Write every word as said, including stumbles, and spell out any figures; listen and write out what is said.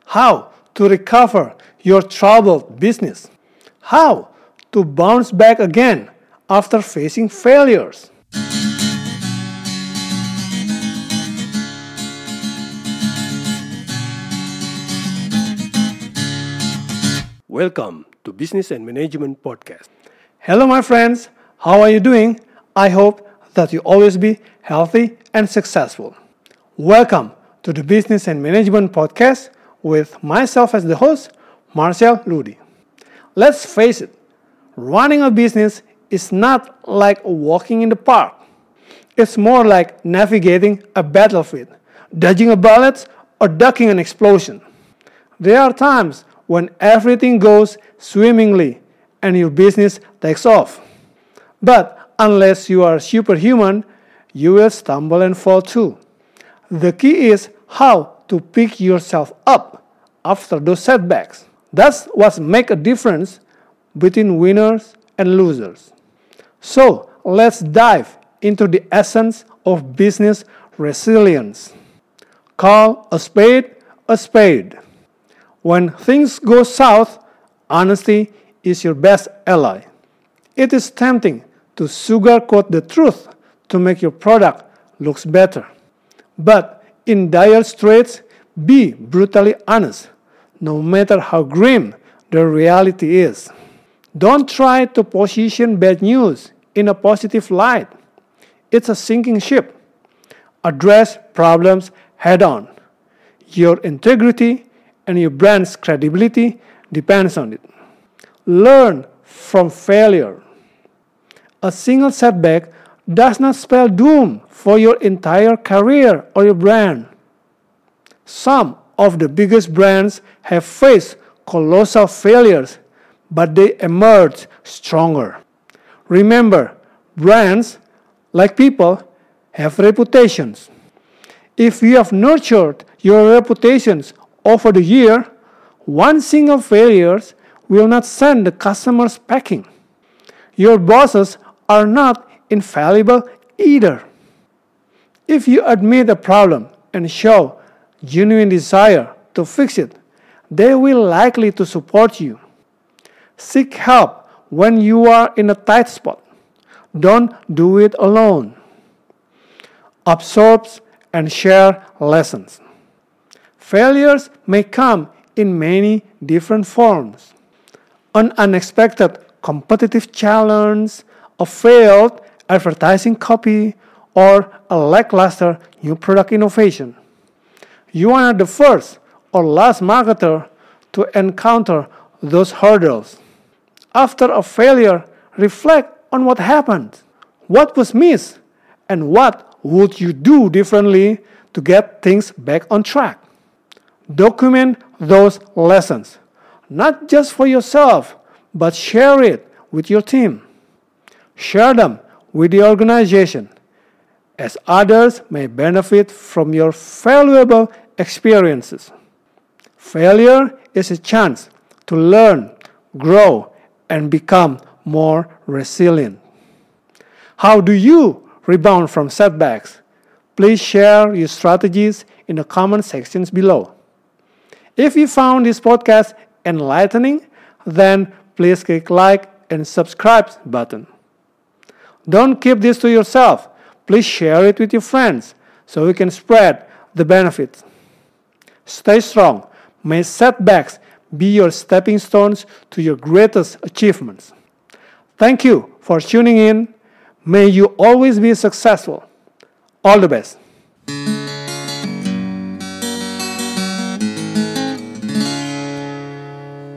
how to recover your troubled business, how to bounce back again after facing failures. Welcome to Business and Management Podcast. Hello my friends, how are you doing? I hope that you always be healthy and successful. Welcome to the Business and Management Podcast with myself as the host, Marcel Ludi. Let's face it, running a business is not like walking in the park. It's more like navigating a battlefield, dodging a bullet, or ducking an explosion. There are times when everything goes swimmingly and your business takes off. But unless you are superhuman, you will stumble and fall too. The key is how to pick yourself up after those setbacks. That's what makes a difference between winners and losers. So let's dive into the essence of business resilience. Call a spade a spade. When things go south, honesty is your best ally. It is tempting to sugarcoat the truth to make your product look better. But in dire straits, be brutally honest, no matter how grim the reality is. Don't try to position bad news in a positive light. It's a sinking ship. Address problems head on. Your integrity and your brand's credibility depends on it. Learn from failure. A single setback does not spell doom for your entire career or your brand. Some of the biggest brands have faced colossal failures, but they emerge stronger. Remember, brands, like people, have reputations. If you have nurtured your reputations over the year, one single failure will not send the customers packing. Your bosses are not infallible either. If you admit a problem and show genuine desire to fix it, they will likely to support you. Seek help when you are in a tight spot. Don't do it alone. Absorb and share lessons. Failures may come in many different forms. An unexpected competitive challenge, a failed advertising copy, or a lackluster new product innovation. You are not the first or last marketer to encounter those hurdles. After a failure, reflect on what happened, what was missed, and what would you do differently to get things back on track. Document those lessons, not just for yourself, but share it with your team. Share them with the organization, as others may benefit from your valuable experiences. Failure is a chance to learn, grow, and become more resilient. How do you rebound from setbacks? Please share your strategies in the comment sections below. If you found this podcast enlightening, then please click like and subscribe button. Don't keep this to yourself. Please share it with your friends so we can spread the benefits. Stay strong. May setbacks be your stepping stones to your greatest achievements. Thank you for tuning in. May you always be successful. All the best.